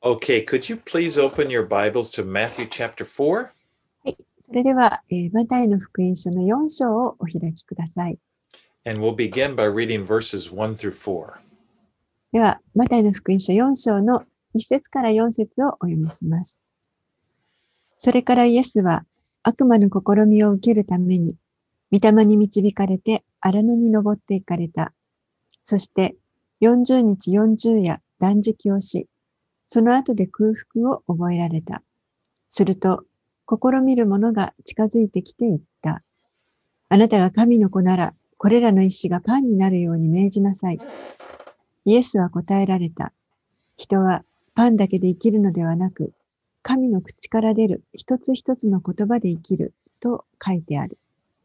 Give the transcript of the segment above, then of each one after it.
Okay, could you please open your Bibles to Matthew chapter 4? はい。それでは、マタイの福音書の4章をお開きください。 And we'll begin by reading verses 1 through 4. では、マタイの福音書4章の1節から4節をお読みします。それからイエスは悪魔の試みを受けるために、御霊に導かれて荒野に登って行かれた。そして40日40夜断食をし、その後で空腹を覚えられた。すると、試みる者が近づいてきて言った。あなたが神の子なら、これらの石がパンになるように命じなさい。イエスは答えられた。人はパンだけで生きるのではなく、神の口から出る一つ一つの言葉で生きると書いてある。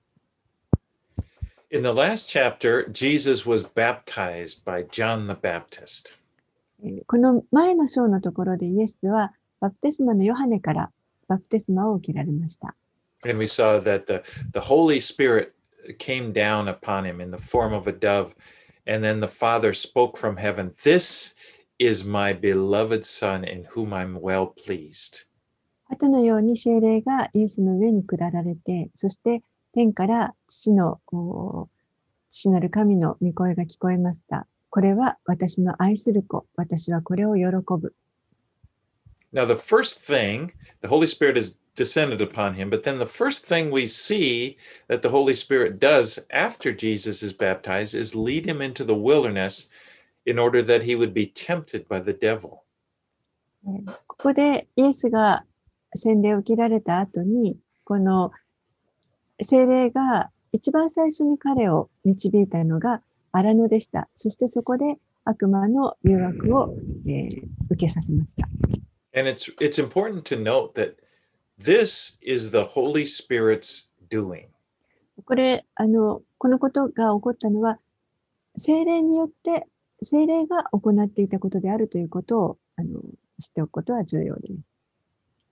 In the last chapter, Jesus was baptized by John the Baptist. この前の章のところでイエスはバプテスマのヨハネからバプテスマを受けられました。 And we saw that the Holy Spirit came down upon him in the form of a dove. And then the Father spoke from heaven, "This is my beloved Son in whom I'm well pleased." 後のように聖霊がイエスの上に下られて、そして天から父なる神の御声が聞こえました。これは私の愛する子、私はこれを喜ぶ。 Now, the first thing, the Holy Spirit has descended upon him, but then the first thing we see that the Holy Spirit does after Jesus is baptized is lead him into the wilderness in order that he would be tempted by the devil. ここでイエスが洗礼を受けられた後に、この聖霊が一番最初に彼を導いたのが荒野でした。そしてそこで悪魔の誘惑を、受けさせました。 And it's important to note that this is the Holy Spirit's doing. このことが起こったのは、聖霊によって、聖霊が行っていたことであるということを知っておくことは重要です。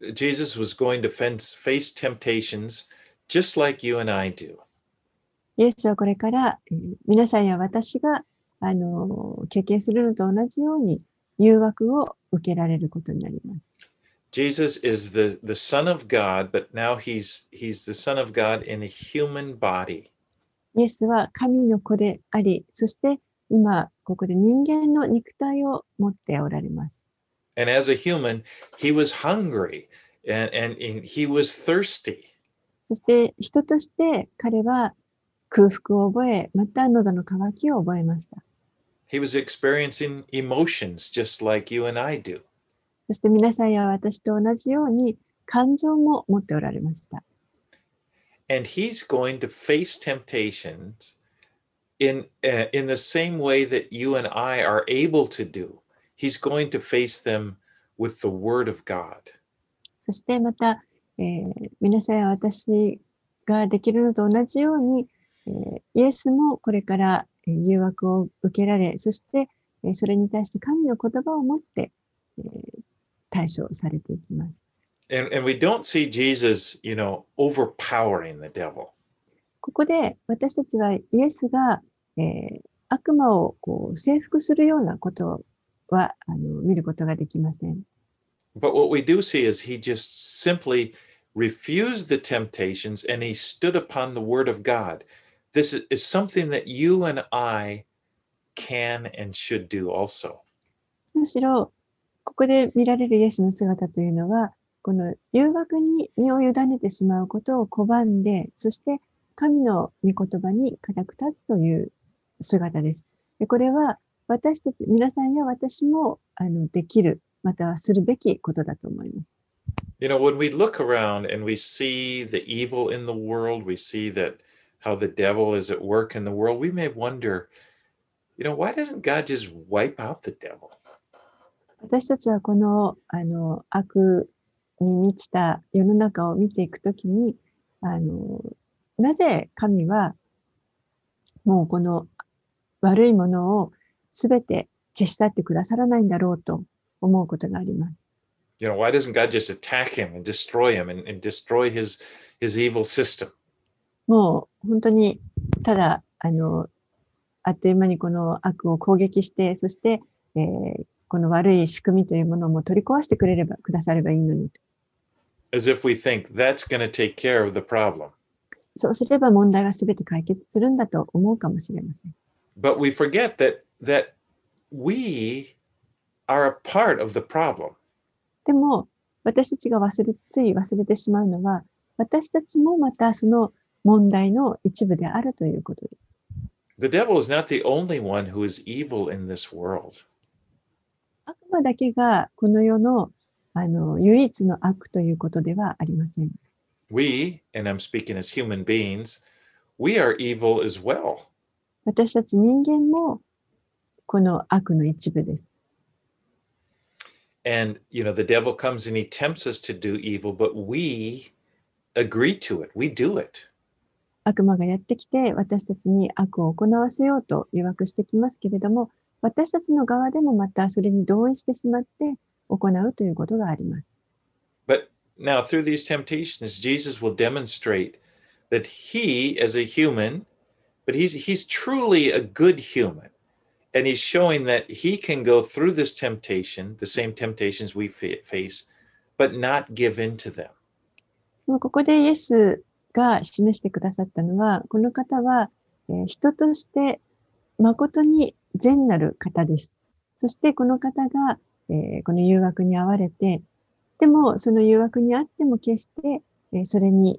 Jesus was going to face temptations just like you and I do. イエスはこれから、皆さんや私が経験するのと同じように誘惑を受けられることになります。 Jesus is the Son of God, but now he's the Son of God in a human body. イエスは神の子であり、そして今ここで人間の肉体を持っておられます。 And as a human, he was hungry and he was thirsty. そして人として彼は空腹を覚え、また喉の渇きを覚えました。 He was experiencing emotions just like you and I do. そして皆さんや私と同じように感情も持っておられました。 And he's going to face temptations in the same way that you and I are able to do. He's going to face them with the word of God. そしてまた、皆さんや私ができるのと同じように、イエスもこれから誘惑を受けられ、そしてそれに対して神の言葉を持って対処されていきます。 And we don't see Jesus, overpowering the devil. ここで私たちはイエスが、悪魔を征服するようなことは見ることができません。 But what we do see is he just simply refused the temptations and he stood upon the word of God. This is something that you and I can and should do also. むしろここで見られるイエスの姿というのは、この誘惑に身を委ねてしまうことを拒んで、そして神の御言葉に固く立つという姿です。でこれは私たち、皆さんや私もできる、またはするべきことだと思います。 When we look around and we see the evil in the world, we see that how the devil is at work in the world, we may wonder, why doesn't God just wipe out the devil? 私たちはこの悪に満ちた世の中を見ていくときに、なぜ神はもうこの悪いものをすべて消し去ってくださらないんだろうと思うことがあります。 Why doesn't God just attack him and destroy him and destroy his evil system? もう本当にただあっという間にこの悪を攻撃して、そして、 この悪い仕組みというものも取り壊してくださればいいのに。 As if we think that's going to take care of the problem. そうすれば問題はすべて解決するんだと思うかもしれません。 But we forget that we are a part of the problem. でも、私たちがつい忘れてしまうのは、私たちもまたその問題の一部であるということです。 The devil is not the only one who is evil in this world. 悪魔だけがこの世の、唯一の悪ということではありません。 We, and I'm speaking as human beings, we are evil as well. 私たち人間もこの悪の一部です。 And, the devil comes and he tempts us to do evil, but we agree to it. We do it. 悪魔がやってきて私たちに悪を行わせようと誘惑してきますけれども、私たちの側でもまたそれに同意してしまって行うということがあります。 But now through these temptations, Jesus will demonstrate that he, as a human, but he's truly a good human. And he's showing that he can go through this temptation, the same temptations we face, but not give in to them. ここでイエスが示してくださったのは、この方は、人として誠に善なる方です。そしてこの方が、この誘惑に遭われて、でもその誘惑にあっても決して、それに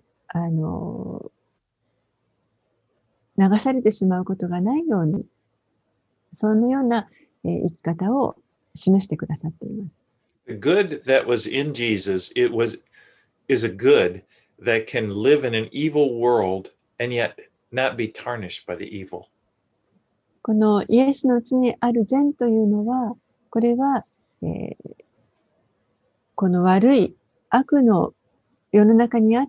流されてしまうことがないように、そのような、生き方を示してくださっています。 The good that was in Jesus, is a good that can live in an evil world and yet not be tarnished by the evil. このイエスのうちにある善というのは、これは、この悪い悪の世の中にあって、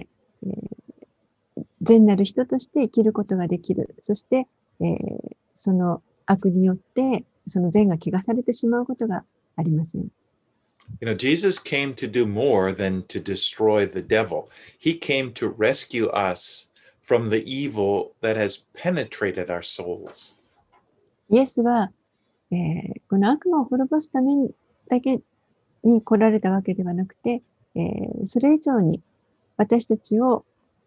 善なる人として生きることができる。そして、その悪によってその善が汚されてしまうことがありません。 Jesus came to do more than to destroy the devil. He came to rescue us from the evil that has penetrated our souls. イエスは、この悪魔を滅ぼすためにだけに来られたわけではなくて、それ以上に私たちの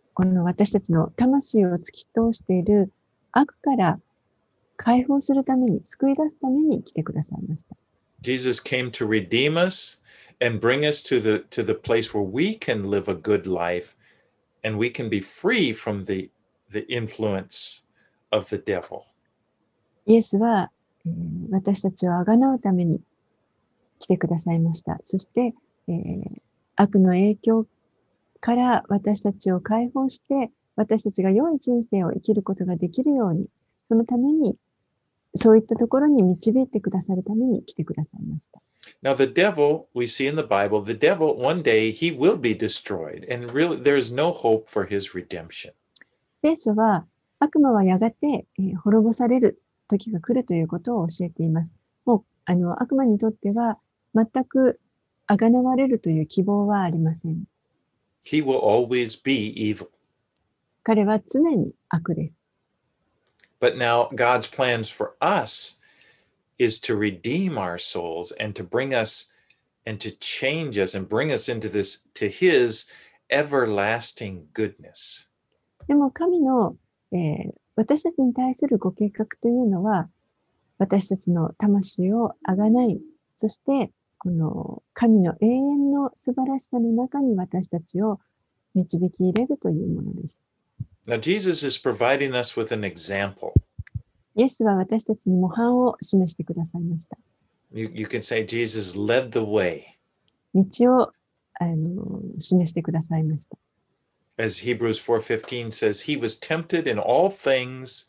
魂を突き通している悪から解放するために、救い出すために来てくださいました。 Jesus came to redeem us and bring us to the place where we can live a good life and we can be free from the influence of the devil. イエスは、私たちをあがなうために来てくださいました。そして、悪の影響から私たちを解放して、私たちが良い人生を生きることができるように、そのために、そういったところに導いてくださるために来てくださいました。 Now, the devil, we see in the Bible, the devil, one day, he will be destroyed, and really, there is no hope for his redemption. 聖書は、悪魔はやがて、滅ぼされる時が来るということを教えています。もう、悪魔にとっては、全くあがなわれるという希望はありません。 He will always be evil. 彼は常に悪です。 But now, God's plans for us is to redeem our souls and to bring us and to change us and bring us into this, to his everlasting goodness. でも神の、私たちに対するご計画というのは、私たちの魂をあがない、そしてこの神の永遠の素晴らしさの中に私たちを導き入れるというものです。 Now, Jesus is providing us with an example. イエスは私たちに模範を示してくださいました。 You can say Jesus led the way. 道を示してくださいました。 As Hebrews 4:15 says, he was tempted in all things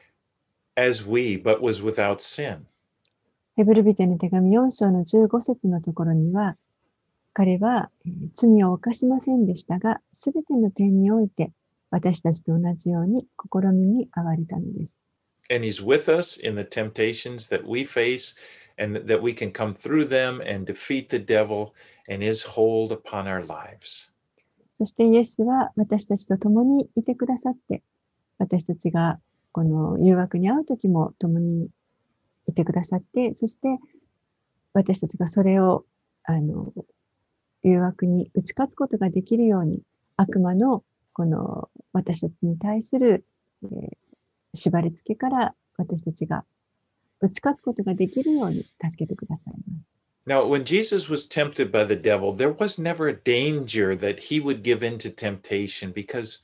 as we, but was without sin. ヘブル人への手紙4章の15節のところには、彼は罪を犯しませんでしたが、すべての点において私たちと同じように試みに遭われたのです。 And he's with us in the temptations that we face and that we can come through them and defeat the devil and his hold upon our lives. そしてイエスは私たちと共にいてくださって、私たちがこの誘惑に遭うときも共にいてくださって、そして私たちがそれを、誘惑に打ち勝つことができるように、悪魔のこの私たちに対する、縛り付けから私たちが打ち勝つことができるように助けてくださいます。 Now, when Jesus was tempted by the devil, there was never a danger that he would give in to temptation because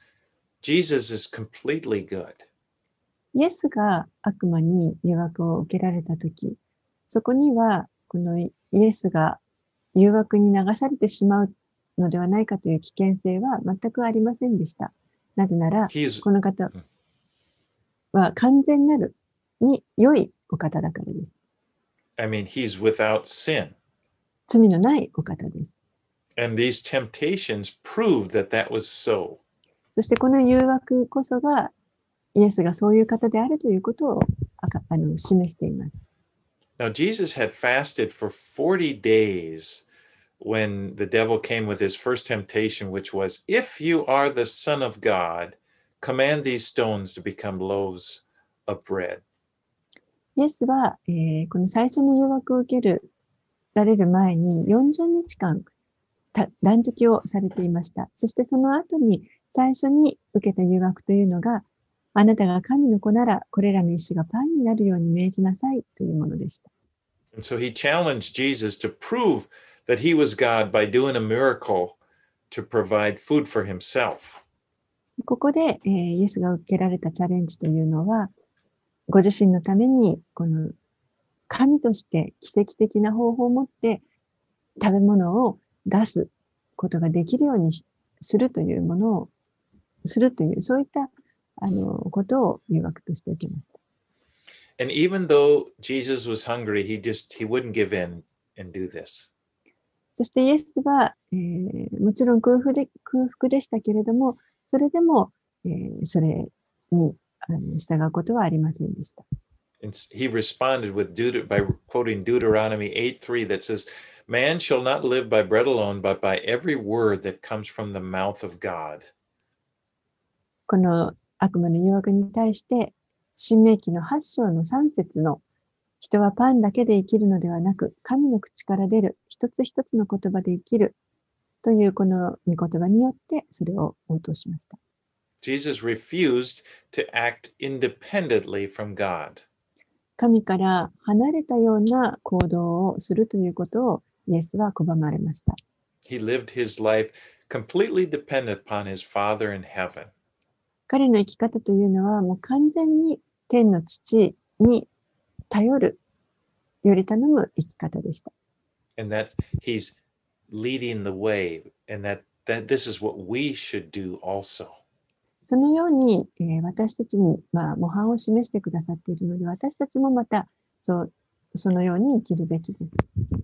Jesus is completely good. イエスが悪魔に誘惑を受けられたとき、そこには、このイエスが誘惑に流されてしまうのではないかという危険性は全くありませんでした。なぜなら、この方は完全なるに良いお方だからです。 I mean, he's without sin. 罪のないお方です。 And these temptations proved that that was so. そしてこの誘惑こそが、イエスがそういう方であるということを示しています。 Now, Jesus had fasted for 40 days when the devil came with his first temptation, which was, if you are the Son of God, command these stones to become loaves of bread. イエスは、この最初の誘惑を受けられる前に40日間断食をされていました。そしてその後に最初に受けた誘惑というのが、あなたが神の子ならこれらの石がパンになるように命じなさいというものでした。 And so he challenged Jesus to prove that he was God by doing a miracle to provide food for himself. ここで、イエスが受けられたチャレンジというのは、ご自身のためにこの神として奇跡的な方法を持って食べ物を出すことができるようにするというものをするという、そういったことを誘惑として受けました。 And even though Jesus was hungry, he wouldn't give in and do this. そしてイエスは、もちろん空腹でしたけれども、それでも、それに従うことはありませんでした。 And he responded by quoting Deuteronomy 8:3 that says, Man shall not live by bread alone, but by every word that comes from the mouth of God. この悪魔の誘惑に対して、申命記の8章の3節の人はパンだけで生きるのではなく、神の口から出る一つ一つの言葉で生きるというこの御言葉によってそれを応答しました。 Jesus refused to act independently from God. 神から離れたような行動をするということをイエスは拒まれました。 He lived his life completely dependent upon his Father in heaven. 彼の生き方というのはもう完全に天の父に頼る、より頼む生き方でした。 And that he's leading the way, and that this is what we should do also. そのように、私たちに、模範を示してくださっているので、私たちもまたそのように生きるべきです。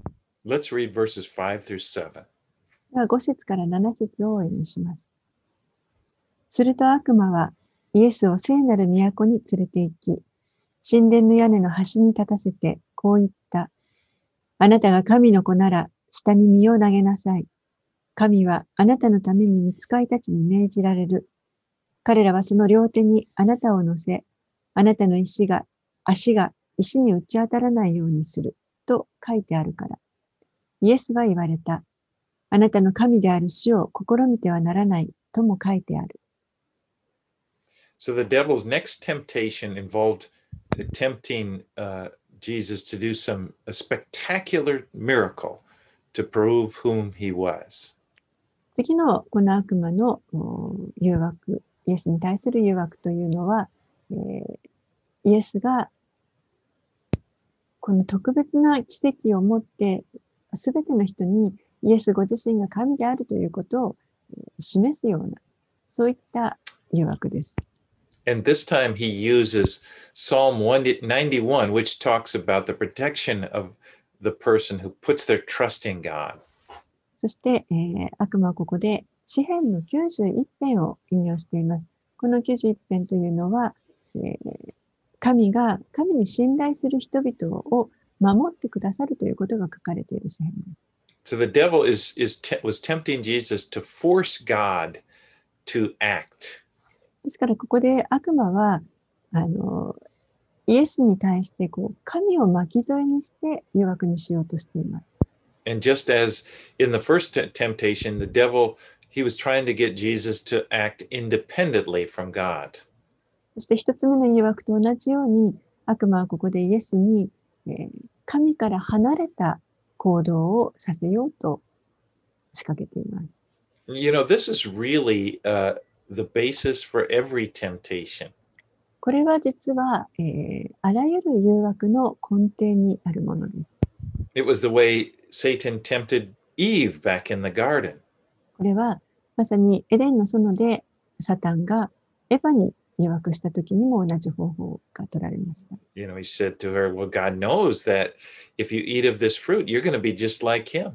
Let's read verses 5 through 7. では5節から7節をお読みします。すると悪魔はイエスを聖なる都に連れて行き、神殿の屋根の端に立たせてこう言った。あなたが神の子なら下に身を投げなさい。神はあなたのために御使いたちに命じられる。彼らはその両手にあなたを乗せ、あなたの足が石に打ち当たらないようにすると書いてあるから。イエスは言われた。あなたの神である主を試みてはならないとも書いてある。 So the devil's next temptation involved tempting Jesus to do a spectacular miracle to prove whom he was. 次のこの悪魔の誘惑、イエスに対する誘惑というのは、イエスがこの特別な奇跡を持ってすべての人にイエスご自身が神であるということを示すような、そういった誘惑です。 And this time he uses Psalm 191, which talks about the protection of the person who puts their trust in God. そして、悪魔はここで詩編の91編を引用しています。この91編というのは、神に信頼する人々を守ってくださるということが書かれている詩編です。 So the devil was tempting Jesus to force God to act. ですからここで悪魔はイエスに対して神を巻き添えにして誘惑にしようとしています。 And just as in the first temptation, the devil, he was trying to get Jesus to act independently from God. そして一つ目の誘惑と同じように、悪魔はここでイエスに、神から離れた行動をさせようと仕掛けています。 You know, this is really the basis for every temptation. これは実は、あらゆる誘惑の根底にあるものです。 It was the way Satan tempted Eve back in the garden. これはまさにエデンの園でサタンがエヴァに誘惑した時にも同じ方法が取られました。 You know, he said to her, well, God knows that if you eat of this fruit, you're going to be just like him.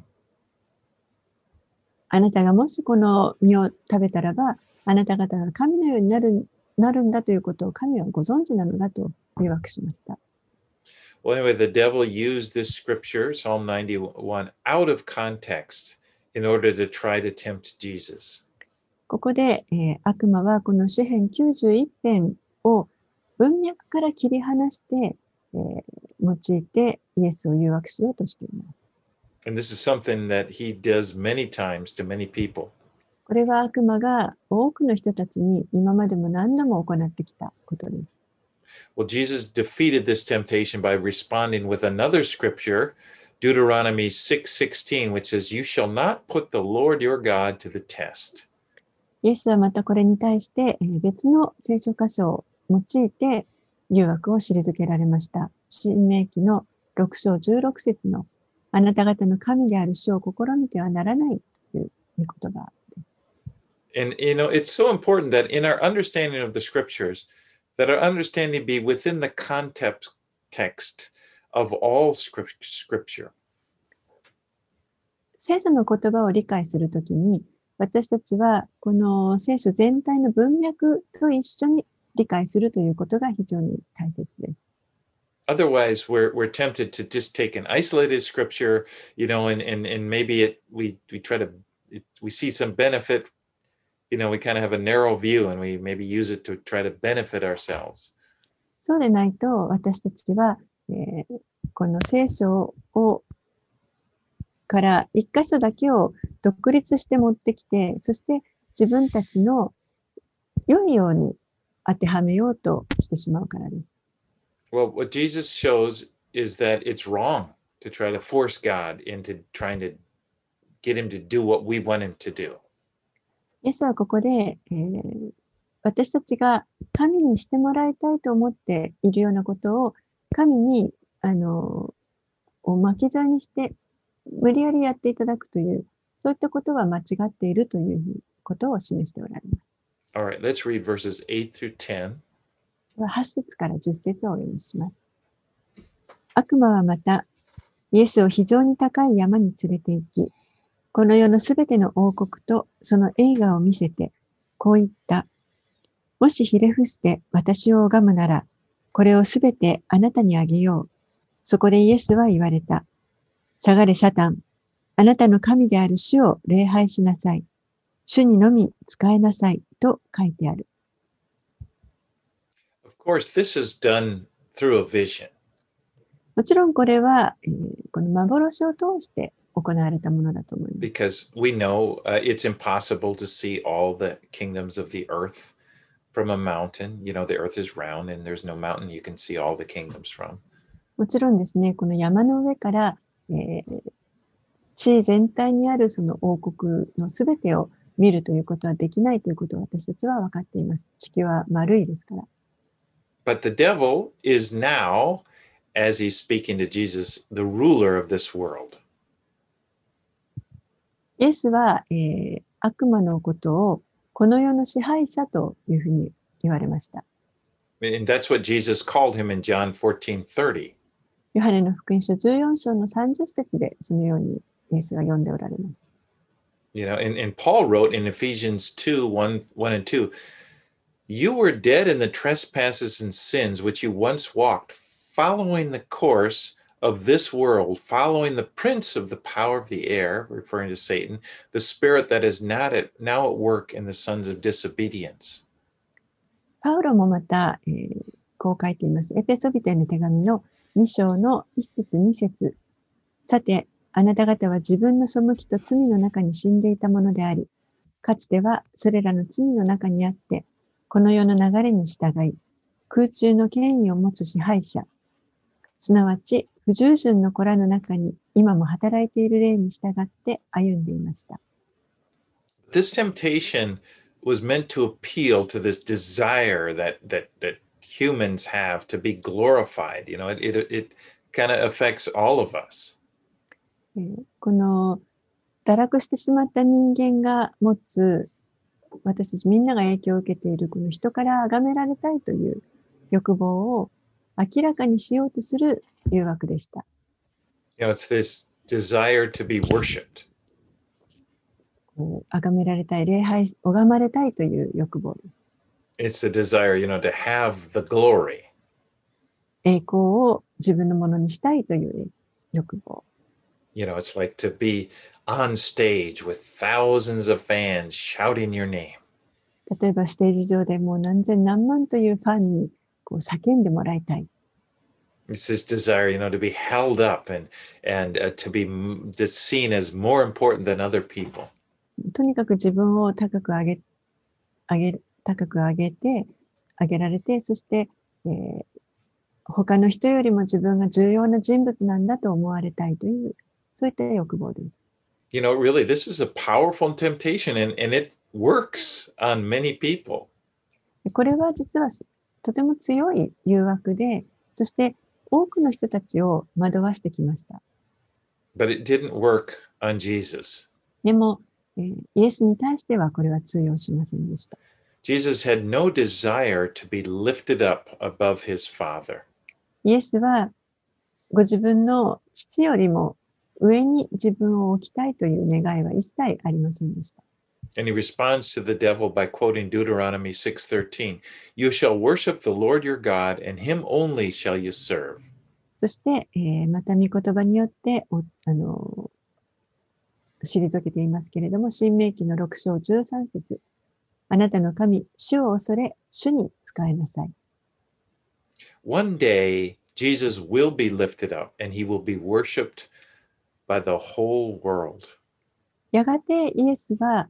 あなたがもしこの実を食べたらば、あなた方が神のようになるんだということを神はご存知なのだと誘惑しました。 Well, anyway, the devil used this scripture, Psalm 91, out of context in order to try to tempt Jesus. ここで、悪魔はこの詩編91編を文脈から切り離して、用いてイエスを誘惑しようとしています。 And this is something that he does many times to many people. これは悪魔が多くの人たちに今までも何度も行ってきたことです。 Well, Jesus defeated this temptation by responding with another scripture, Deuteronomy 6:16, which says, "You shall not put the Lord your God to the test." イエスはまたこれに対して、別の聖書箇所を用いて誘惑を退けられました。申命記の6章16節のあなた方の神である主を試みてはならないという御言葉。 And you know, it's so important that in our understanding of the scriptures, that our understanding be within the context of all scripture. 聖書の言葉を理解するときに、私たちはこの聖書全体の文脈と一緒に理解するということが非常に大切です。 Otherwise, we're tempted to just take an isolated scripture, you know, and maybe we try to we see some benefit. You know, we kind of have a narrow view and we maybe use it to try to benefit ourselves. そうでないと、私たちは、この聖書から一箇所だけを独立して持ってきて、そして自分たちの良いように当てはめようとしてしまうからです。 Well, what Jesus shows is that it's wrong to try to force God into trying to get him to do what we want him to do. イエスはここで、私たちが神にしてもらいたいと思っているようなことを神に巻き添えにして無理やりやっていただくという、そういったことは間違っているということを示しておられます。 All right, let's read verses 8 through 10. 8節から10節をお読みします。悪魔はまた、イエスを非常に高い山に連れて行き、この世のすべての王国とその栄華を見せて、こう言った。もしひれ伏して私を拝むなら、これをすべてあなたにあげよう。そこでイエスは言われた。下がれサタン。あなたの神である主を礼拝しなさい。主にのみ仕えなさい。と書いてある。 Of course, this is done through a vision. もちろんこれは、この幻を通して行われたものだと思います。 Because we know it's impossible to see all the kingdoms of the earth from a mountain. You know, the earth is round and there's no mountain you can see all the kingdoms from. もちろんですね、この山の上から、地全体にあるその王国のすべてを見るということはできないということを私たちは分かっています。地球は丸いですから。 But the devil is now, as he's speaking to Jesus, the ruler of this world. イエスは、悪魔のことをこの世の支配者というふうに言われました。 And that's what Jesus called him in John 14:30. ヨハネの福音書14章の30節でそのようにイエスが読んでおられます。 You know, and Paul wrote in Ephesians 2:1 and 2, you were dead in the trespasses and sins which you once walked, following the course of this world, following the prince of the power of the air, referring to Satan, the spirit that is now at work in the sons of disobedience. パウロもまた、 こう書いています。エペソビテへの手紙の2章の1節2節。さて、あなた方は自分の背きと罪の中に死んでいたものであり、かつてはそれらの罪の中にあって、この世の流れに従い、空中の権威を持つ支配者、すなわち不従順の子らの中に今も働いている霊に従って歩んでいました。 This temptation was meant to appeal to this desire that humans have to be glorified. You know, it kind of affects all of us. この堕落してしまった人間が持つ、私たちみんなが影響を受けているこの人から崇められたいという欲望を明らかにしようとする誘惑でした。 You know, it's this desire to be worshipped. 崇められたい、礼拝、拝まれたいという欲望です。 It's the desire, you know, to have the glory. 栄光を自分のものにしたいという欲望。 You know, it's like to be on stage with thousands of fans shouting your name. 例えばステージ上でもう何千何万というファンにこう叫んでもらいたい。 It's this desire, you know, to be held up and to be seen as more important than other people. とにかく自分を高く上げられて、そして、他の人よりも自分が重要な人物なんだと思われたいという、そういった欲望です。 You know, really, this is a powerful temptation and it works on many people. これは実はとても強い誘惑で、そして多くの人たちを惑わしてきました。 But it didn't work on Jesus. でも、イエスに対してはこれは通用しませんでした。 Jesus had no desire to be lifted up above his Father. イエスはご自分の父よりも上に自分を置きたいという願いは一切ありませんでした。 And he responds to the devil by quoting Deuteronomy 6:13. You shall worship the Lord your God, and him only shall you serve. そして、また御言葉によって退けていますけれども、新明記の6章13節。あなたの神、主を恐れ、主に仕えなさい。 One day, Jesus will be lifted up, and he will be worshipped by the whole world. やがてイエスは、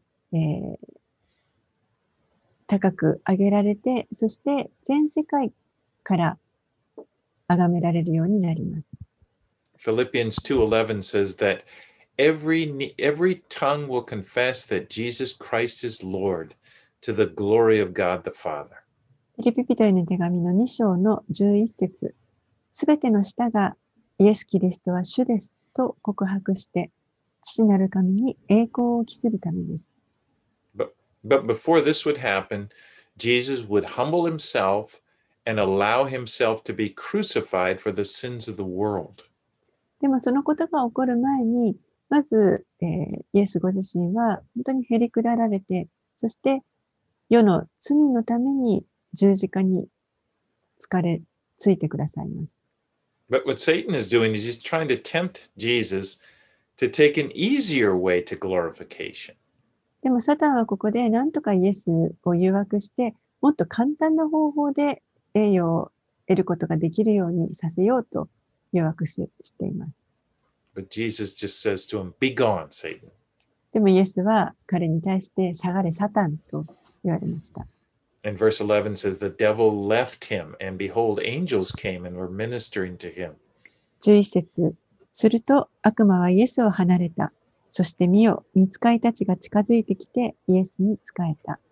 高く上げられて、そして全世界から崇められるようになります。 Philippians 2:11 says that every tongue will confess that Jesus Christ is Lord to the glory of God the Father. フィリピ人への手紙の2章の11節。すべての舌がイエス・キリストは主ですと告白して、父なる神に栄光を期するためです。 But before this would happen, Jesus would humble himself and allow himself to be crucified for the sins of the world. でもそのことが起こる前に、まず、イエスご自身は本当にへりくだられて、そして世の罪のために十字架についてくださいます。 But what Satan is doing is he's trying to tempt Jesus to take an easier way to glorification. でもサタンはここで何とかイエスを誘惑して、もっと簡単な方法で栄誉を得ることができるようにさせようと誘惑しています。 But Jesus just says to him, Be gone, Satan. でもイエスは彼に対して下がれサタンと言われました。 And verse 11 says, The devil left him, and behold, angels came and were ministering to him. 11節。すると悪魔はイエスを離れた。そして見よ、御使いたちが近づいてきてイエスに仕えた。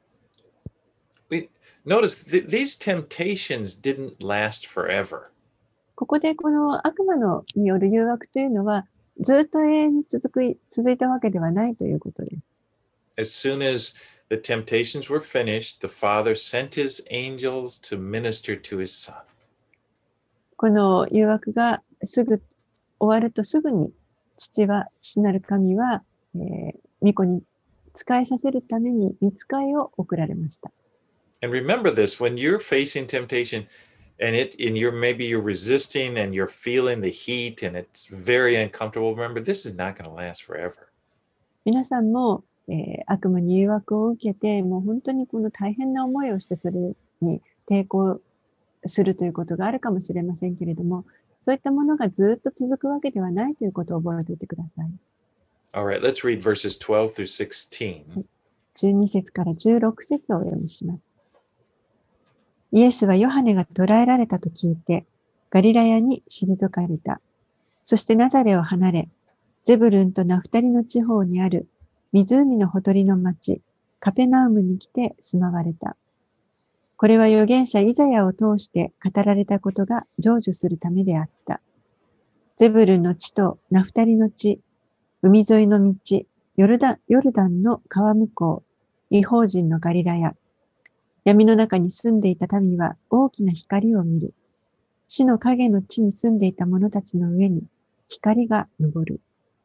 Notice these temptations didn't last forever. ここでこの悪魔による誘惑というのはずっと永遠に続いたわけではないということです。 As soon as the temptations were finished, the Father sent his angels to minister to his Son. この誘惑がすぐ終わるとすぐに父なる神は、御子に仕えさせるために御使いを送られました。 And remember this, when you're facing temptation and maybe you're resisting and you're feeling the heat and it's very uncomfortable, remember this is not going to last forever. 皆さんも、悪魔に誘惑を受けて、もう本当にこの大変な思いをしてそれに抵抗するということがあるかもしれませんけれども、そういったものがずっと続くわけではないということを覚えておいてください。 All right, let's read verses 12 through 16. 12節から16節をお読みします。イエスはヨハネが捕らえられたと聞いて、ガリラヤに退かれた。そしてナザレを離れ、ゼブルンとナフタリの地方にある湖のほとりの町、カペナウムに来て住まわれた。これは預言者イザヤを通して語られたことが成就するためであった。ゼブルンの地とナフタリの地、海沿いの道、ヨルダンの川向こう、異邦人のガリラヤ。闇の中に住んでいた民は大きな光を見る。死の影の地に住んでいた者たちの上に光が昇る。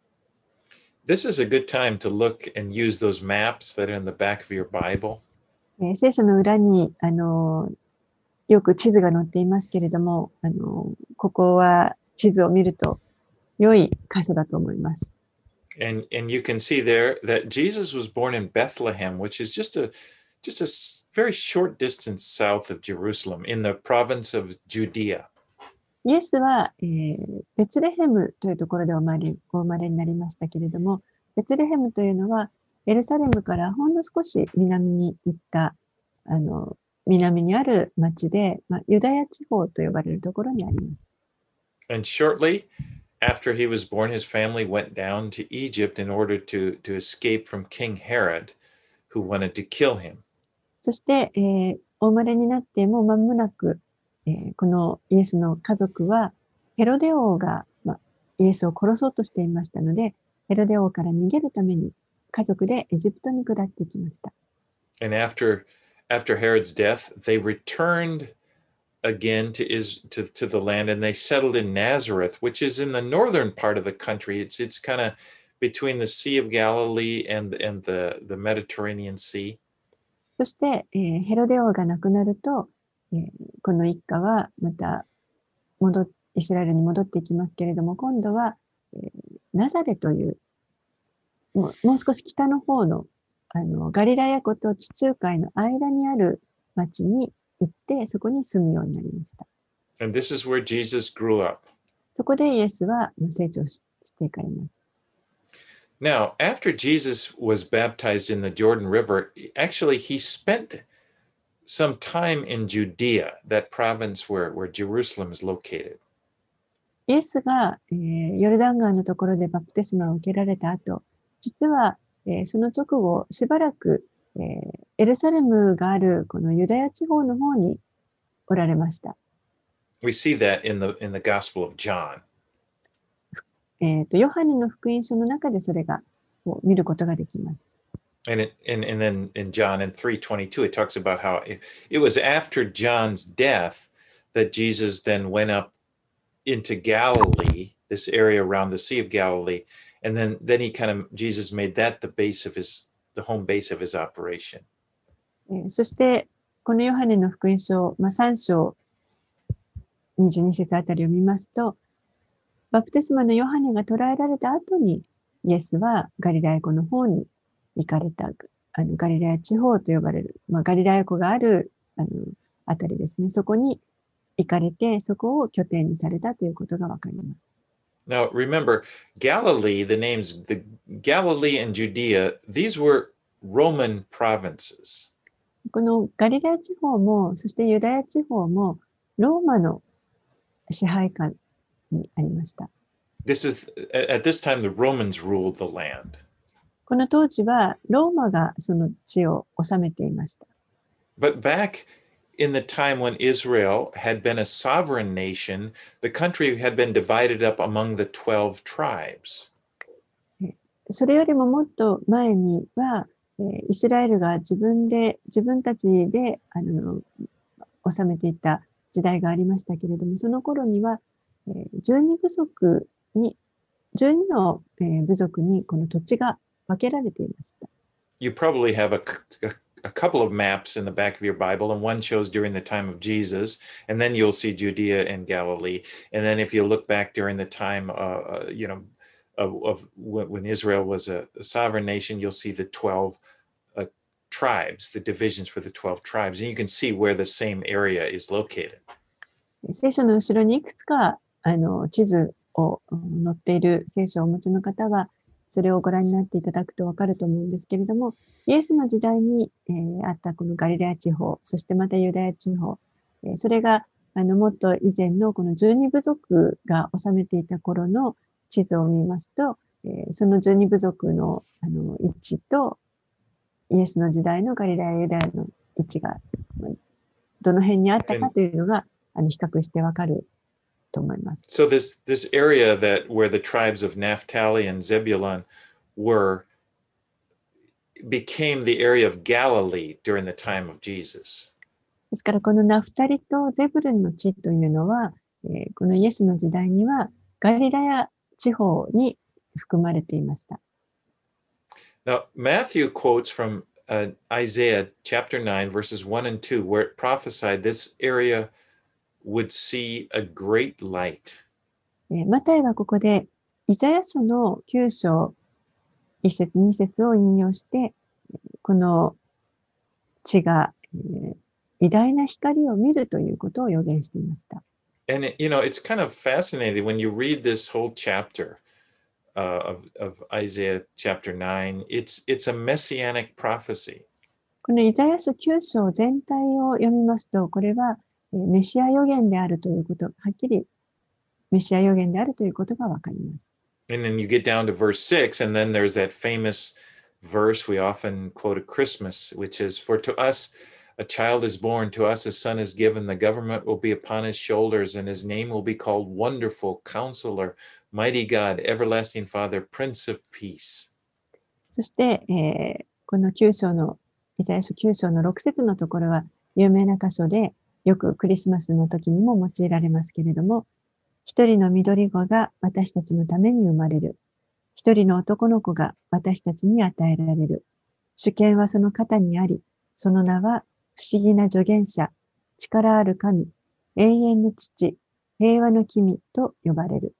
This is a good time to look and use those maps that are in the back of your Bible. 聖書の裏に、よく地図が載っていますけれども、ここは地図を見ると良い箇所だと思います。 And you can see there that Jesus was born in Bethlehem, which is just a very short distance south of Jerusalem in the province of Judea. イエスは、ベツレヘムというところでお生まれになりましたけれども、ベツレヘムというのはエルサレムからほんの少し南に行った南にある町で、ユダヤ地方と呼ばれるところにあります。 And shortly after he was born, his family went down to Egypt in order to escape from King Herod, who wanted to kill him. そして、お生まれになってもう間もなく、このイエスの家族はヘロデ王が、イエスを殺そうとしていましたので、ヘロデ王から逃げるために家族でエジプトに下ってきました。 And after Herod's death, they returned again to the land, and they settled in Nazareth, which is in the northern part of the country. It's kind of between the Sea of Galilee and the Mediterranean Sea. そして、ヘロデ王が亡くなると、この一家はまたイスラエルに戻っていきますけれども、今度は、ナザレというもう少し北の方のガリラヤ湖と地中海の間にある町に行ってそこに住むようになりました。 And this is where Jesus grew up. そこでイエスは成長していかれます。 Now, after Jesus was baptized in the Jordan River, actually he spent some time in Judea, that province where Jerusalem is located. イエスが、ヨルダン川のところでバプテスマを受けられた後、実は、その直後しばらく、エルサレムがあるこのユダヤ地方の方におられました。 We see that in the Gospel of John. ヨハネの福音書の中でそれが見ることができます。 And then in John 3:22, it talks about how it was after John's death that Jesus then went up into Galilee, this area around the Sea of Galilee, and then Jesus made that the home base of his operation. そしてこのヨハネの福音書、3章22節あたりを見ますと、バプテスマのヨハネが捕らえられた後にイエスはガリラヤ湖の方に行かれた、ガリラヤ地方と呼ばれる、ガリラヤ湖があるあたりですね。そこに行かれて、そこを拠点にされたということがわかります。 Now remember, Galilee, the Galilee and Judea, these were Roman provinces. このガリラヤ地方も、そしてユダヤ地方も、ローマの支配下にありました。 At this time, the Romans ruled the land. この当時は、ローマがその地を治めていました。 But back in the time when Israel had been a sovereign nation, the country had been divided up among the 12 tribes. それよりももっと前には、イスラエルが自分たちで治めていた時代がありましたけれども、その頃には、12の部族にこの土地が分けられていました。 You probably have a couple of maps in the back of your Bible, and one shows during the time of Jesus, and then you'll see Judea and Galilee. And then if you look back during the time, of when Israel was a sovereign nation, you'll see the 12 tribes, the divisions for the 12 tribes, and you can see where the same area is located. 聖書の後ろにいくつか地図を載っている聖書をお持ちの方は、それをご覧になっていただくとわかると思うんですけれども、イエスの時代に、あったこのガリラヤ地方、そしてまたユダヤ地方、それがもっと以前のこの12部族が治めていた頃の地図を見ますと、その12部族の位置とイエスの時代のガリラヤ、ユダヤの位置がどの辺にあったかというのが比較してわかると思います。 So this area that where the tribes of Naphtali and Zebulun were became the area of Galilee during the time of Jesus. ですからこのナフタリとゼブルンの地というのは、このイエスの時代にはガリラヤ地方に含まれていました。 Now, Matthew quotes from Isaiah chapter 9, verses 1 and 2, where it prophesied this area would see a great light. マタイはここでイザヤ書の9章1節2節を引用して、この地が、偉大な光を見るということを予言していました。 And it's kind of fascinating when you read this whole chapter of Isaiah chapter 9. It's a messianic prophecy. このイザヤ書9章全体を読みますと、これはメシア予言であるということ、はっきりメシア予言であるということがわかります。 And then you get down to verse 6, and then there's that famous verse we often quote at Christmas, which is, "For to us a child is born, to us a son is given, the government will be upon his shoulders, and his name will be called Wonderful, Counselor, Mighty God, Everlasting Father, Prince of Peace." そして、この9章の、イザヤ書9章の6節のところは有名な箇所で、よくクリスマスの時にも用いられますけれども、一人の緑子が私たちのために生まれる。一人の男の子が私たちに与えられる。主権はその肩にあり、その名は不思議な助言者、力ある神、永遠の父、平和の君と呼ばれる。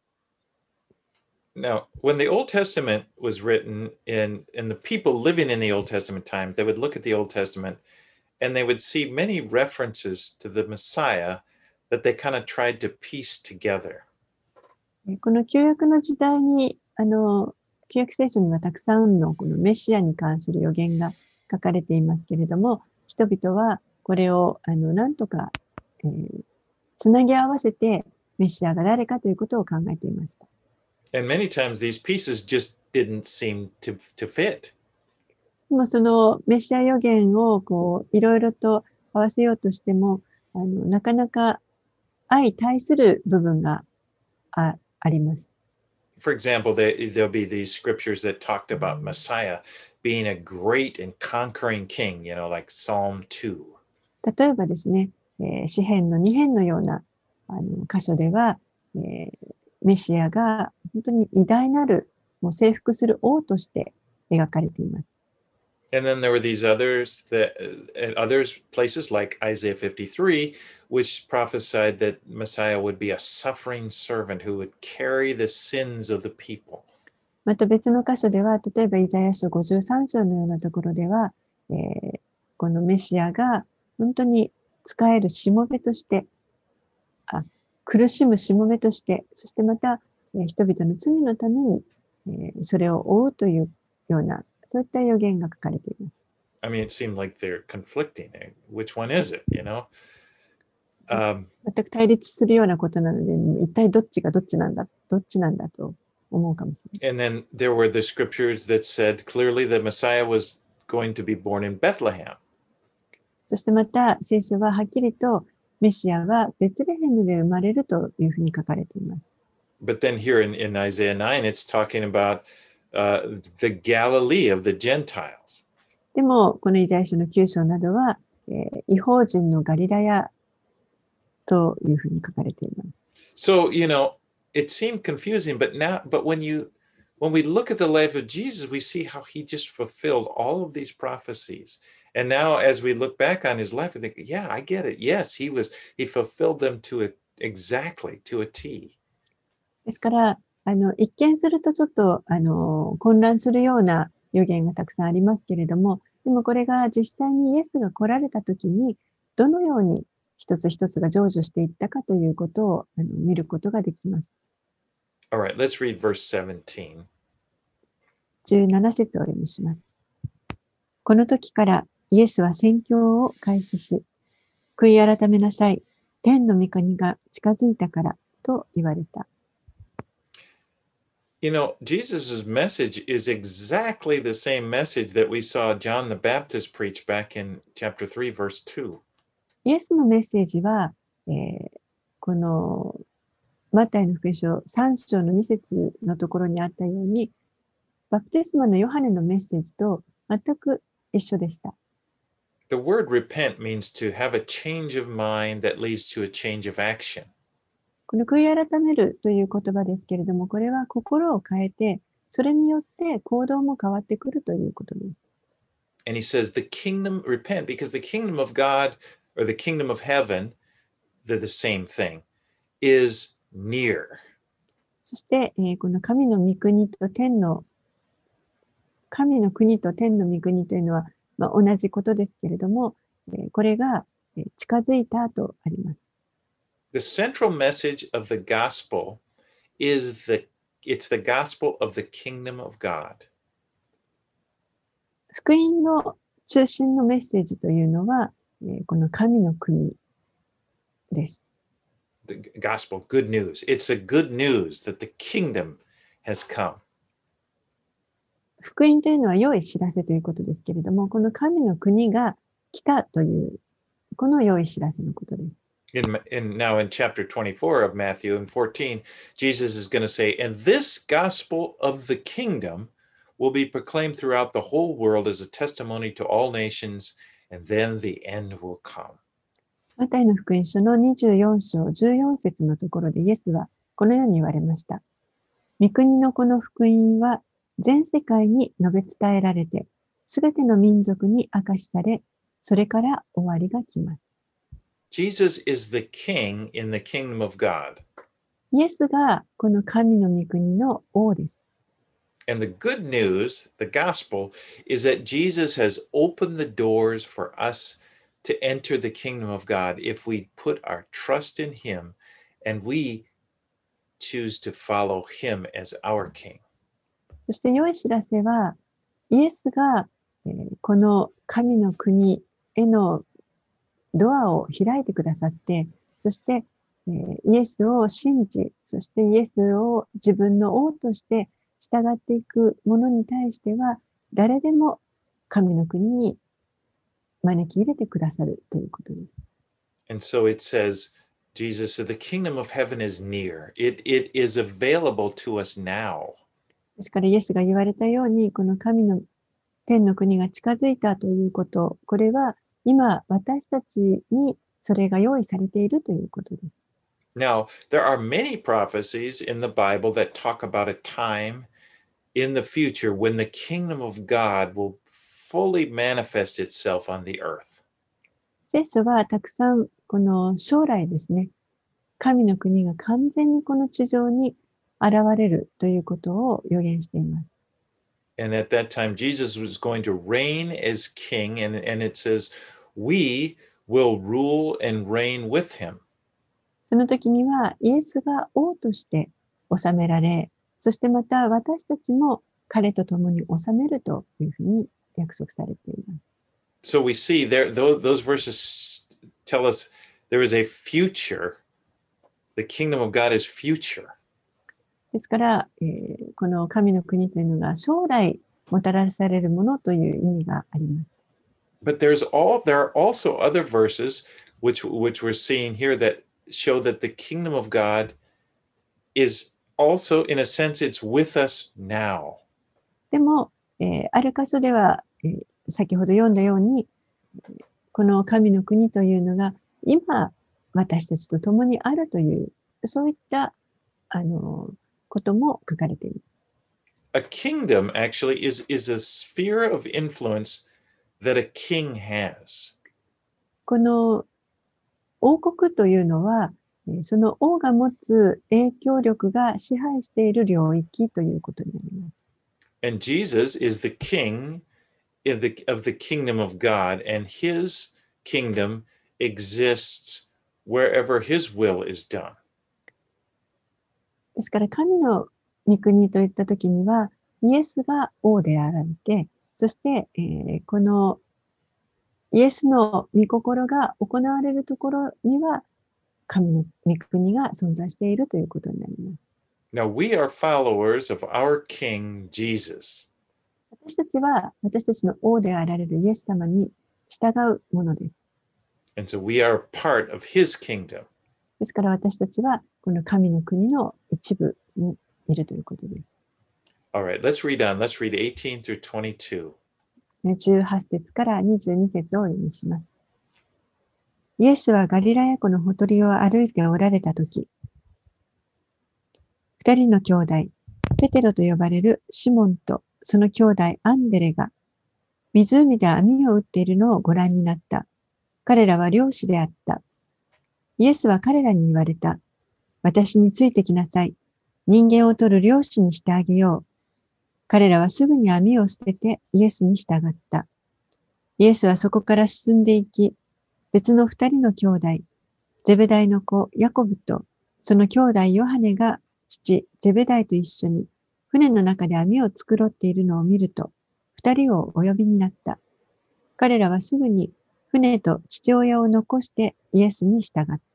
Now, when the Old Testament was written, and the people living in the Old Testament times, they would look at the Old Testament and they would see many references to the Messiah that they kind of tried to piece together. この旧約の時代に、旧約聖書にはたくさんのこのメシアに関する予言が書かれていますけれども、人々はこれをなんとか、つなぎ合わせてメシアが誰かということを考えていました。 And many times these pieces just didn't seem to fit. でもそのメシア予言をこういろいろと合わせようとしても、なかなか相対する部分があります。 For example, there'll be these scriptures that talked about Messiah being a great and conquering king, like Psalm 2. 例えばですね、詩編の2編のような箇所では、メシアが本当に偉大なるもう征服する王として描かれています。 And then there were these others at other places like Isaiah 53, which prophesied that Messiah would be a suffering servant who would carry the sins of the people. また別の箇所では、例えばイザヤ書53章のようなところでは、このメシアが本当に仕えるしもべとして、苦しむしもべとして、そしてまた、人々の罪のために、それを追うというような、そういった予言が書かれています。 I mean, it seemed like they're conflicting. Which one is it, 全く対立するようなことなので、一体どっちがどっちなんだと思うかもしれない。 And then there were the scriptures that said clearly the Messiah was going to be born in Bethlehem. そしてまた聖書ははっきりとメシアはベツレヘムで生まれるというふうに書かれています。 But then here in Isaiah 9, it's talking about the Galilee of the Gentiles. でもこのイザヤ書の9章などは、異邦人のガリラヤというふうに書かれています。 So, it seemed confusing, but when we look at the life of Jesus, we see how he just fulfilled all of these prophecies. And now as we look back on his life, we think, yeah, I get it. Yes, he fulfilled them exactly to a T. ですから、一見するとちょっと、混乱するような予言がたくさんありますけれども、でもこれが実際にイエスが来られた時に、どのように一つ一つが成就していったかということを見ることができます。 All right, let's read verse 17. 17節をお読みします。この時からイエスは宣教を開始し、悔い改めなさい。天の御国が近づいたからと言われた。 You know, Jesus' message is exactly the same message that we saw John the Baptist preach back in chapter 3, verse 2. イエスのメッセージは、このマタイの福音書3章の2節のところにあったように、バプテスマのヨハネのメッセージと全く一緒でした。 The word repent means to have a change of mind that leads to a change of action. この悔い改めるという言葉ですけれども、これは心を変えて、それによって行動も変わってくるということです。 And he says, the kingdom, repent, because the kingdom of God or the kingdom of heaven, they're the same thing, is near. そして、この神の御国と天の御国というのは、同じことですけれども、これが近づいたとあります。 The central message of the gospel is it's the gospel of the kingdom of God. 福音の中心のメッセージというのは、この神の国です。 The gospel, good news. It's the good news that the kingdom has come. 福音というのは良い知らせということですけれども、この神の国が来たという、この良い知らせのことです。 Now in chapter 24 of Matthew and 14, Jesus is going to say, and this gospel of the kingdom will be proclaimed throughout the whole world as a testimony to all nations, and then the end will come. マタイの福音書の24章14節のところでイエスはこのように言われました。御国のこの福音は全世界に述べ伝えられて、すべての民族に明かしされ、それから終わりが来ます。 Jesus is the king in the kingdom of God. イエスがこの神の御国の王です。 And the good news, the gospel, is that Jesus has opened the doors for us to enter the kingdom of God if we put our trust in him and we choose to follow him as our king. そして良い知らせは、イエスが、この神の国へのドアを開いてくださって、そして、イエスを信じ、そしてイエスを自分の王として従っていく者に対しては、誰でも神の国に招き入れてくださるということです。 And so it says, Jesus said, the kingdom of heaven is near. It is available to us now. ですからイエスが言われたように、この神の天の国が近づいたということ、これは今私たちにそれが用意されているということです。 Now, there are many prophecies in the Bible that talk about a time in the future when the kingdom of God will fully manifest itself on the earth. 聖書はたくさんこの将来ですね、神の国が完全にこの地上に現れるということを予言しています。 And at that time, Jesus was going to reign as king, and it says, we will rule and reign with him. その時にはイエスが王として治められ、そしてまた私たちも彼と共に治めるというふうに約束されています。 So we see there, those verses tell us there is a future. The kingdom of God is future. ですから、この神の国というのが将来もたらされるものという意味があります。 But there are also other verses which we're seeing here that show that the kingdom of God is also, in a sense, it's with us now. でも、ある箇所では、先ほど読んだように、この神の国というのが今私たちと共にあるという、そういったことも書かれています。 A kingdom actually is a sphere of influence that a king has. この王国というのは、その王が持つ影響力が支配している領域ということになります。 And Jesus is the king of the kingdom of God, and his kingdom exists wherever his will is done. ですから神の御国といったときには、イエスが王であられて、そして、このイエスの御心が行われるところには、神の御国が存在しているということになります。 Now, we are followers of our King Jesus. 私たちは私たちの王であられるイエス様に従うものです。 And so we are a part of his kingdom. ですから私たちはこの神の国の一部にいるということです。 All right, let's read on. Let's read 18 through 22. 18節から22節を読みします。イエスはガリラヤ湖のほとりを歩いておられたとき、二人の兄弟、ペテロと呼ばれるシモンとその兄弟アンデレが湖で網を打っているのをご覧になった。彼らは漁師であった。イエスは彼らに言われた。私についてきなさい。人間を取る漁師にしてあげよう。彼らはすぐに網を捨ててイエスに従った。イエスはそこから進んでいき、別の二人の兄弟、ゼベダイの子ヤコブとその兄弟ヨハネが父ゼベダイと一緒に船の中で網を繕っているのを見ると、二人をお呼びになった。彼らはすぐに船と父親を残してイエスに従った。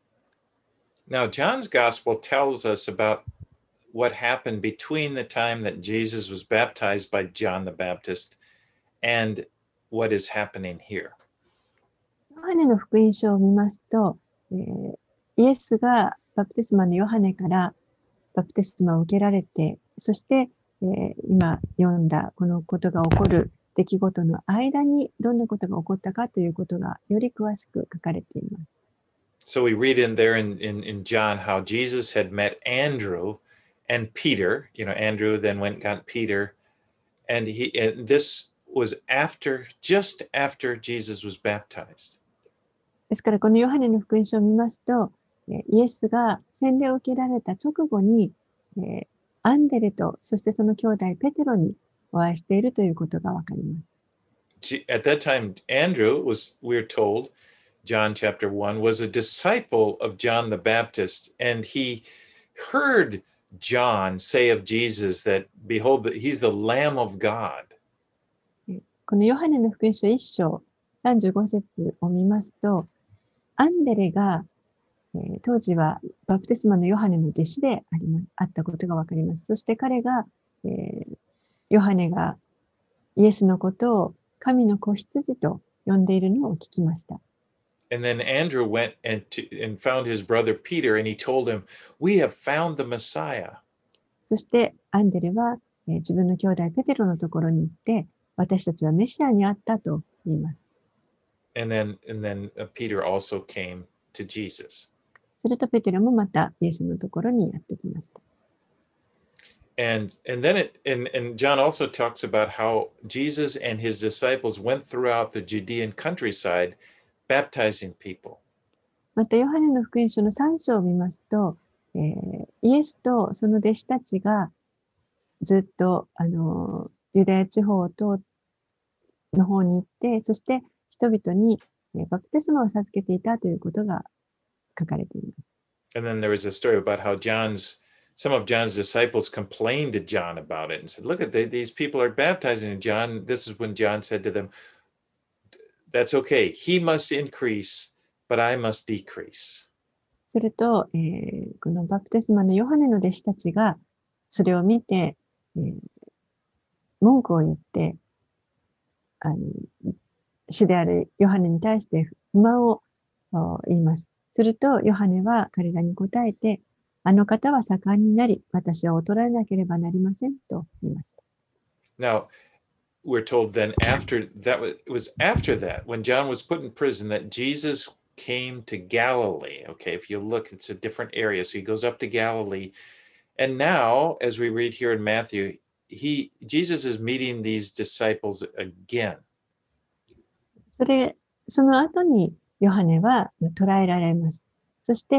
Now, John's gospel tells us about what happened between the time that Jesus was baptized by John the Baptist and what is happening here. ヨハネの福音書を見ますと、イエスがバプテスマのヨハネからバプテスマを受けられて、そして、今読んだこのことが起こる出来事の間にどんなことが起こったかということがより詳しく書かれています。 So we read in there in John how Jesus had met Andrew and Peter. You know, Andrew then went and got Peter. And this was just after Jesus was baptized. ですからこのヨハネの福音書を見ますと、イエスが洗礼を受けられた直後に、アンデレとそしてその兄弟ペテロにお会いしているということがわかります。 At that time, Andrew was, we're told, John chapter 1, was a disciple of John the Baptist, and he heard John say of Jesus that, behold, he's the Lamb of God. このヨハネの福音書1章35節を見ますと、アンデレが、当時はバプテスマのヨハネの弟子であったことがわかります。そして彼が、ヨハネがイエスのことを神の子羊と呼んでいるのを聞きました。 And then Andrew went and found his brother Peter, and he told him, "We have found the Messiah." そしてアンデレは、自分の兄弟ペテロのところに行って、私たちはメシアに会ったと言います。 And then Peter also came to Jesus. するとペテロもまたイエスのところにやってきました。 And then and John also talks about how Jesus and his disciples went throughout the Judean countryside baptizing people. またヨハネの福音書の3章を見ますと、イエスとその弟子たちがずっとユダヤ地方の方に行って、そして人々にバプテスマを授けていたということが書かれています。 And then there was a story about how some of John's disciples complained to John about it and said, "Look at these people are baptizing." And John, this is when John said to them, "That's okay. He must increase, but I must decrease." すると、このバプテスマのヨハネの弟子たちがそれを見て、文句を言って、主であるヨハネに対して不満を言います。すると、ヨハネは彼らに答えて、あの方は盛んになり、私は衰えなければなりませんと言いました。 Now, we're told then it was after that, when John was put in prison, that Jesus came to Galilee. Okay, if you look, it's a different area. So he goes up to Galilee. And now, as we read here in Matthew, Jesus is meeting these disciples again. その後にヨハネは捕らえられます。そして、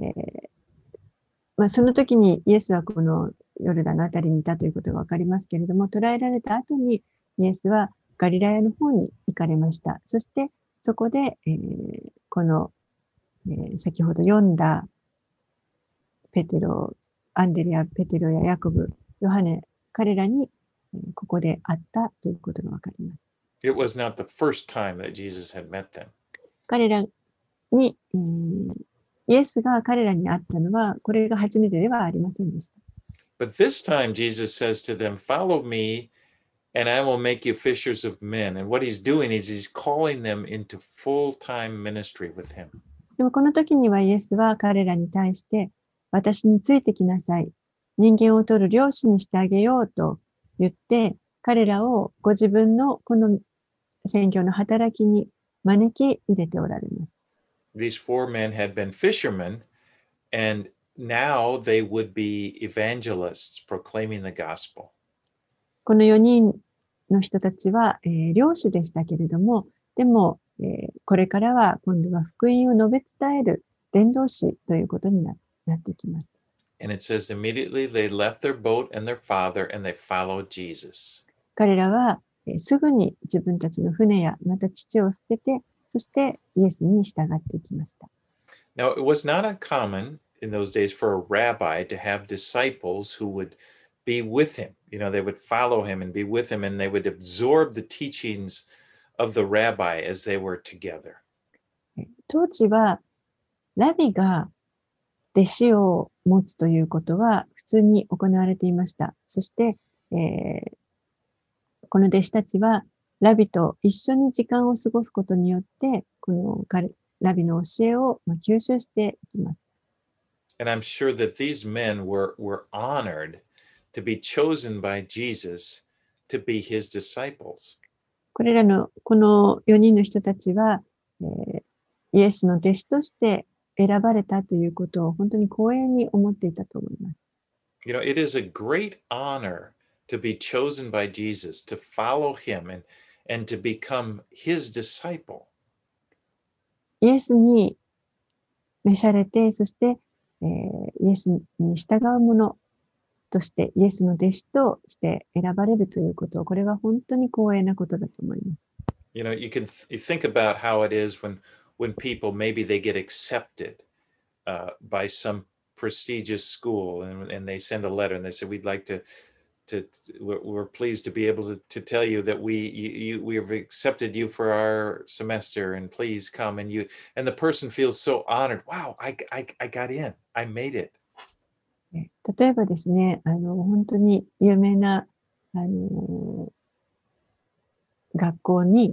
その時にイエスはこのヨルダンのあたりにいたということがわかりますけれども、捕らえられた後にイエスはガリラヤの方に行かれました。そしてそこで、この、先ほど読んだペテロ、アンデレやペテロやヤコブ、ヨハネ、彼らにここで会ったということがわかります。 It was not the first time that Jesus had met them. 彼らに、イエスが彼らに会ったのは、これが初めてではありませんでした。 But this time, Jesus says to them, Follow me, and I will make you fishers of men. And what he's doing is he's calling them into full-time ministry with him. でもこの時にはイエスは彼らに対して、私についてきなさい。人間を取る漁師にしてあげようと言って、彼らをご自分のこの宣教の働きに招き入れておられます。 These 4 men had been fishermen, and now they would be evangelists proclaiming the gospel. この4人の人たちは、漁師でしたけれども、でも、これからは今度は福音を述べ伝える伝道師ということになってきます。 And it says, immediately they left their boat and their father, and they followed Jesus. 彼らは、すぐに自分たちの船やまた父を捨てて、そしてイエスに従っていきました。 Now, it was not uncommon in those days for a rabbi to have disciples who would be with him. They would follow him and be with him, and they would absorb the teachings of the rabbi as they were together. 当時は、ラビが弟子を持つということは普通に行われていました。そして、この弟子たちはラビと一緒に時間を過ごすことによって、このラビの教えを吸収していきます。 And I'm sure that these men were honored to be chosen by Jesus to be his disciples. この4人の人たちは、イエスの弟子として選ばれたということを本当に光栄に思っていたと思います。 It is a great honor to be chosen by Jesus, to follow him and to become his disciple. イエスに召されて、そして、イエスに従う者として、イエスの弟子として選ばれるということ、これは本当に光栄なことだと思います。 You think about how it is when people, maybe they get accepted by some prestigious school, and they send a letter and they say, we'd like we're pleased to be able to tell you that we have accepted you for our semester, and please come. And the person feels so honored. Wow, I got in. I made it. 例えばですね、本当に有名な、学校に、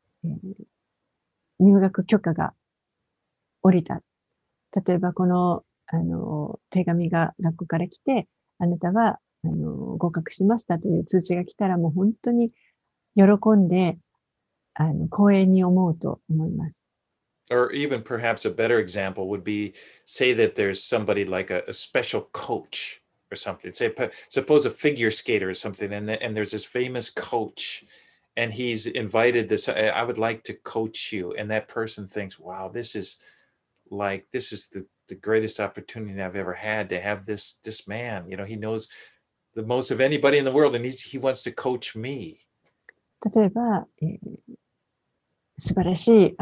入学許可が下りた。例えばこの、手紙が学校から来て、あなたは合格しましたという通知が来たら、もう本当に喜んで光栄に思うと思います。 Or even perhaps a better example would be, say that there's somebody like a special coach or something. Suppose a figure skater or something, and there's this famous coach, and he's invited this. I would like to coach you, and that person thinks, wow, this is the greatest opportunity I've ever had to have this man. He knows the most of anybody in the world, and he wants to coach me. 例えば、素晴らしい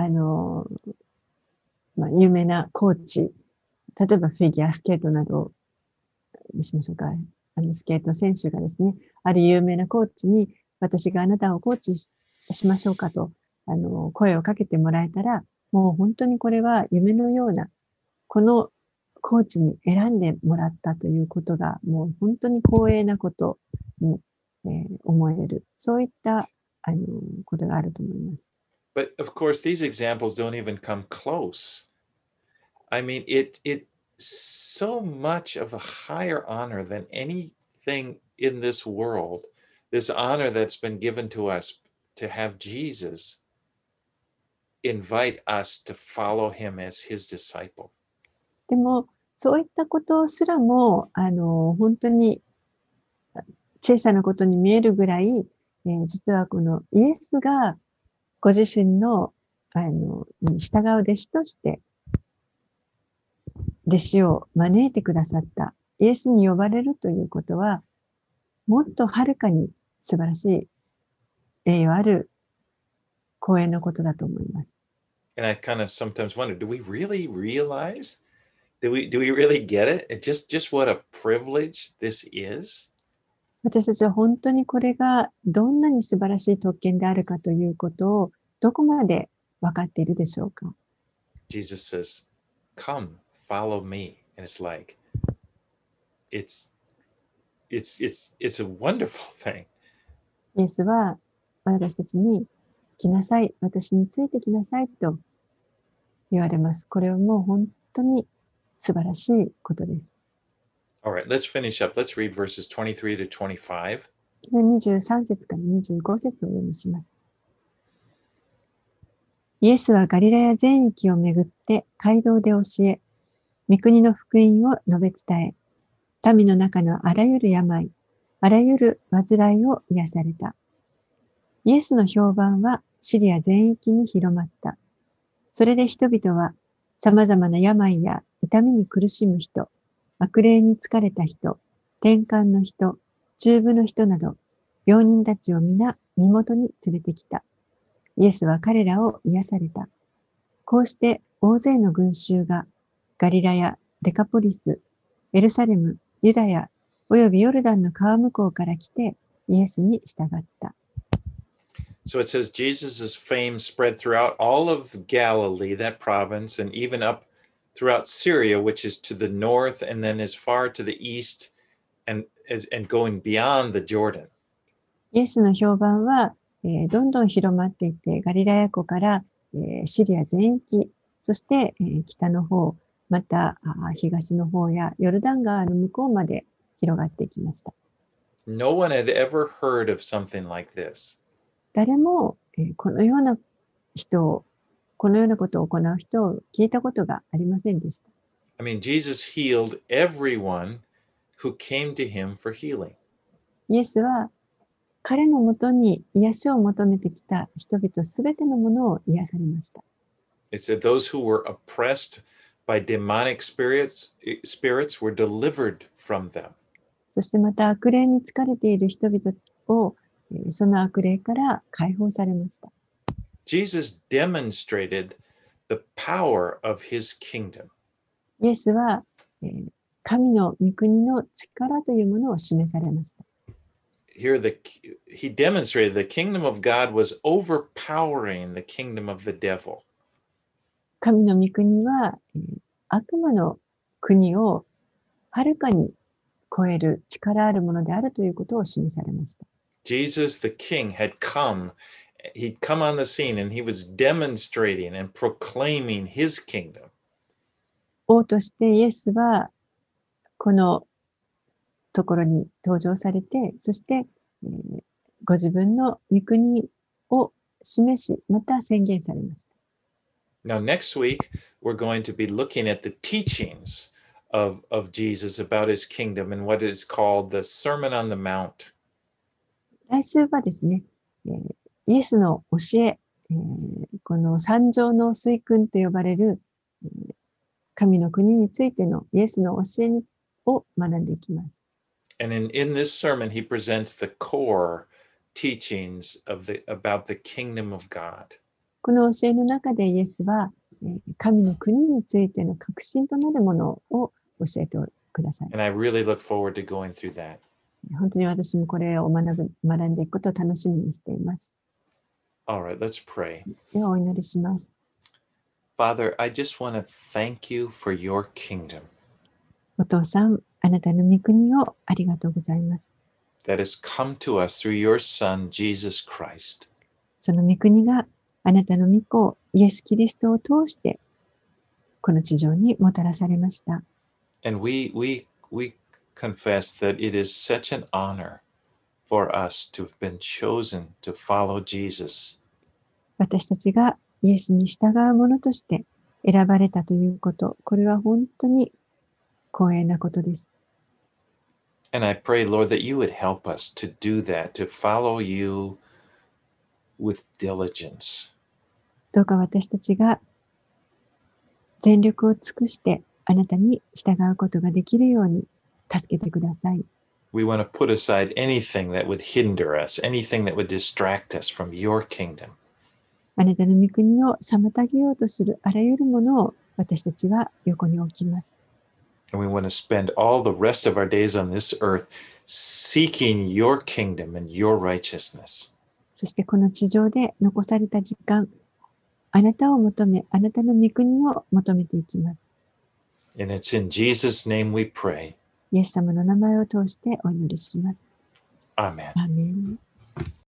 有名なコーチ、例えばフィギュアスケートなどにしましょうか。スケート選手がですね、ある有名なコーチに、私があなたをコーチしましょうかと声をかけてもらえたら、もう本当にこれは夢のような、このコーチに選んでもらったということが、もう本当に光栄なことに、思える。そういったことがあると思います。 But of course, these examples don't even come close. I mean, it's so much of a higher honor than anything in this world. This honor that's been given to us to have Jesus invite us to follow him as his disciple. でも、そういったことすらも、本当に小さなことに見えるぐらい、実はこのイエスがご自身の、に従う弟子として、弟子を招いてくださった。イエスに呼ばれるということは、もっとはるかに素晴らしい栄誉ある光栄なことだと思います。 And I kind of sometimes wonder, do we really realize? Do we really get it? Just what a privilege this is? 私たちは本当にこれがどんなに素晴らしい特権であるかということをどこまで分かっているでしょうか。 Jesus says, "Come, follow me." And it's like, it's a wonderful thing. イエスは私たちに来なさい、私についてきなさいと言われます。これはもう本当に素晴らしいことです。 All right, let's finish up. Let's read verses 23 to 25. 23節から25節をお読みします。イエスはガリラヤ全域をめぐって街道で教え、御国の福音を述べ伝え、民の中のあらゆる病、あらゆる患いを癒された。イエスの評判はシリア全域に広まった。それで人々は様々な病や痛みに苦しむ人、悪霊に疲れた人、転換の人、中部の人など、病人たちを皆身元に連れてきた。イエスは彼らを癒された。こうして大勢の群衆がガリラヤ、デカポリス、エルサレム、ユダヤ、およびヨルダンの川向こうから来てイエスに従った。 So it says Jesus' fame spread throughout all of Galilee, that province, and even up throughout Syria, which is to the north, and then as far to the east, and going beyond the Jordan. イエスの評判は、どんどん広まっていって、ガリラヤ湖から、シリア全域、そして、北の方、また東の方やヨルダン川の向こうまで広がっていきました。 No one had ever heard of something like this. 誰も、このようなことを行う人を聞いたことがありませんでした。 I mean, Jesus healed everyone who came to him for healing. イエスは彼のもとに癒しを求めてきた人々すべてのものを癒されました。 It said those who were oppressed by demonic spirits were delivered from them. そしてまた悪霊に疲れている人々をその悪霊から解放されました。 Jesus demonstrated the power of his kingdom. イエスは神の御国の力というものを示されました。 Here, he demonstrated the kingdom of God was overpowering the kingdom of the devil. 神の御国は悪魔の国をはるかに超える力あるものであるということを示されました。 Jesus, the king, had come. He'd come on the scene and he was demonstrating and proclaiming his kingdom. 王としてイエスはこのところに登場されて、そして、ご自分の御国を示し、また宣言されました。 Now, next week, we're going to be looking at the teachings of Jesus about his kingdom and what is called the Sermon on the Mount. 来週はですね、イエスの教え、この三条の水訓と呼ばれる、神の国についてのイエスの教えを学んでいきます。 And in this sermon, he presents the core teachings about the kingdom of God. この教えの中でイエスは、神の国についての核心となるものを教えてください。 And I really look forward to going through that. 本当に私もこれを学んでいくことを楽しみにしています。 All right, let's pray. ではお祈りします。 Father, I just want to thank you for your kingdom. お父さん、あなたの御国をありがとうございます。 That has come to us through your Son, Jesus Christ. その御国があなたの御子、イエス・キリストを通して、この地上にもたらされました。 And we confess that it is such an honor for us to have been chosen to follow Jesus. 私たちがイエスに従う者として選ばれたということ、これは本当に光栄なことです。 And I pray, Lord, that you would help us to do that, to follow you with diligence. どうか私たちが全力を尽くしてあなたに従うことができるように助けてください。 We want to put aside anything that would hinder us, anything that would distract us from your kingdom. あなたの御国を妨げようとするあらゆるものを私たちは横に置きます。 And we want to spend all the rest of our days on this earth seeking your kingdom and your righteousness. そしてこの地上で残された時間、あなたを求め、あなたの御国を求めていきます。 And it's in Jesus' name we pray. イエス様の名前を通してお祈りします。 Amen. アーメン。